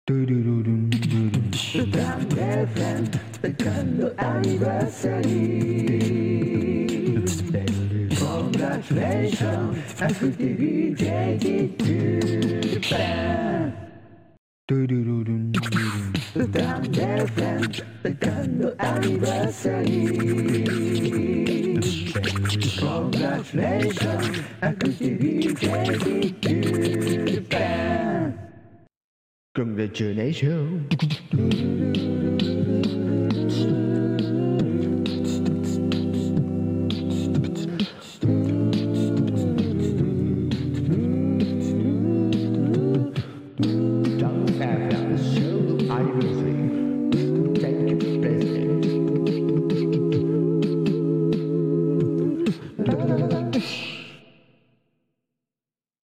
Grande friend, peccando anniversary. Congratulations, and 50 take to Japan. Grande friend, peccando anniversary. Congratulations, and 50 take to Japan. Congratulations.